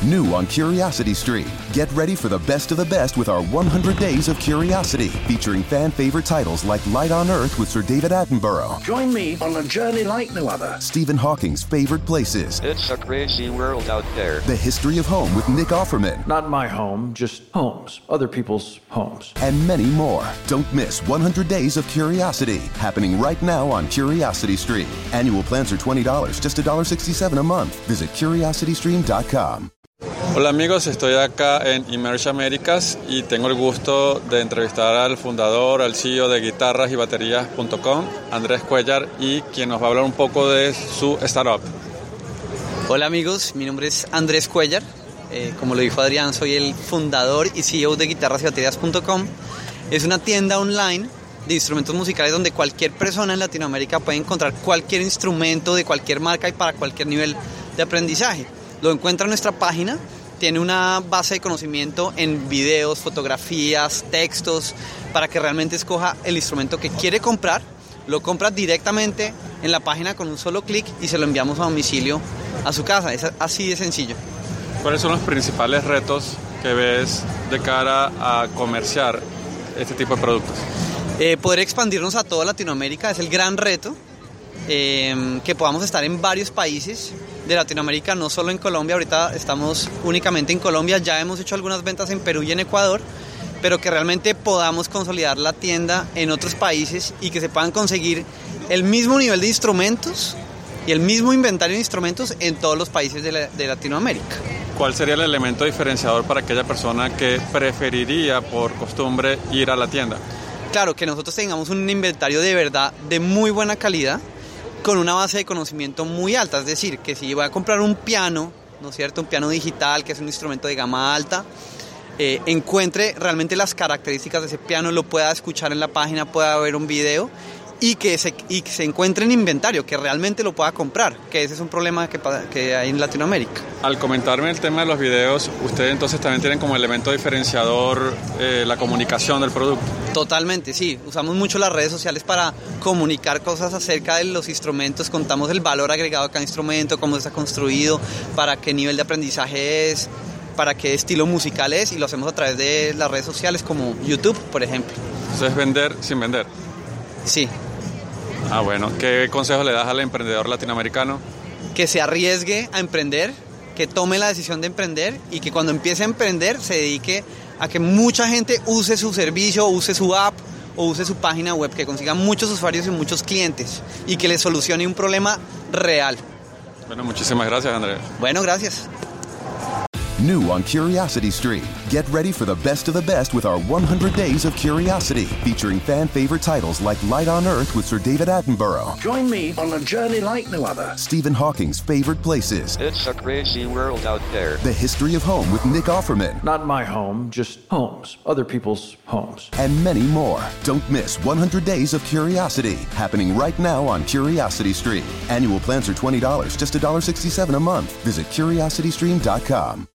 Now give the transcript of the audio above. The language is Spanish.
New on Curiosity Stream. Get ready for the best of the best with our 100 Days of Curiosity, featuring fan-favorite titles like Light on Earth with Sir David Attenborough. Join me on a journey like no other. Stephen Hawking's favorite places. It's a crazy world out there. The History of Home with Nick Offerman. Not my home, just homes. Other people's homes. And many more. Don't miss 100 Days of Curiosity, happening right now on Curiosity Stream. Annual plans are $20, just $1.67 a month. Visit curiositystream.com. Hola amigos, estoy acá en Emerge Americas y tengo el gusto de entrevistar al fundador, al CEO de guitarrasybaterías.com, Andrés Cuellar, y quien nos va a hablar un poco de su startup. Hola amigos, mi nombre es Andrés Cuellar. Como lo dijo Adrián, soy el fundador y CEO de guitarrasybaterías.com. Es una tienda online de instrumentos musicales donde cualquier persona en Latinoamérica puede encontrar cualquier instrumento de cualquier marca y para cualquier nivel de aprendizaje. Lo encuentra en nuestra página, tiene una base de conocimiento en videos, fotografías, textos, para que realmente escoja el instrumento que quiere comprar, lo compra directamente en la página con un solo clic y se lo enviamos a domicilio a su casa. Es así de sencillo. ¿Cuáles son los principales retos que ves de cara a comerciar este tipo de productos? Poder expandirnos a toda Latinoamérica es el gran reto. Que podamos estar en varios países de Latinoamérica, no solo en Colombia. Ahorita estamos únicamente en Colombia, ya hemos hecho algunas ventas en Perú y en Ecuador, pero que realmente podamos consolidar la tienda en otros países y que se puedan conseguir el mismo nivel de instrumentos y el mismo inventario de instrumentos en todos los países de Latinoamérica. ¿Cuál sería el elemento diferenciador para aquella persona que preferiría por costumbre ir a la tienda? Claro, que nosotros tengamos un inventario de verdad de muy buena calidad, con una base de conocimiento muy alta. Es decir, que si voy a comprar un piano, ¿no es cierto?, un piano digital, que es un instrumento de gama alta, encuentre realmente las características de ese piano, lo pueda escuchar en la página, pueda ver un video y que se encuentre en inventario, que realmente lo pueda comprar, que ese es un problema que hay en Latinoamérica. Al comentarme el tema de los videos, ustedes entonces también tienen como elemento diferenciador la comunicación del producto. Totalmente, sí. Usamos mucho las redes sociales para comunicar cosas acerca de los instrumentos, contamos el valor agregado de cada instrumento, cómo está construido, para qué nivel de aprendizaje es, para qué estilo musical es, y lo hacemos a través de las redes sociales como YouTube, por ejemplo. Entonces es vender sin vender. Sí. Ah, bueno. ¿Qué consejo le das al emprendedor latinoamericano? Que se arriesgue a emprender, que tome la decisión de emprender y que cuando empiece a emprender se dedique a que mucha gente use su servicio, use su app o use su página web, que consiga muchos usuarios y muchos clientes y que le solucione un problema real. Bueno, muchísimas gracias, Andrés. Bueno, gracias. New on Curiosity Stream. Get ready for the best of the best with our 100 Days of Curiosity, featuring fan-favorite titles like Light on Earth with Sir David Attenborough. Join me on a journey like no other. Stephen Hawking's favorite places. It's a crazy world out there. The History of Home with Nick Offerman. Not my home, just homes. Other people's homes. And many more. Don't miss 100 Days of Curiosity, happening right now on Curiosity Stream. Annual plans are $20, just $1.67 a month. Visit curiositystream.com.